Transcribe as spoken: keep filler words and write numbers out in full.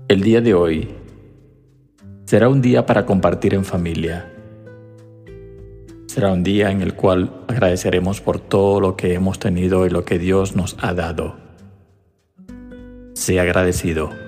El día de hoy será un día para compartir en familia. Será un día en el cual agradeceremos por todo lo que hemos tenido y lo que Dios nos ha dado. Sea agradecido.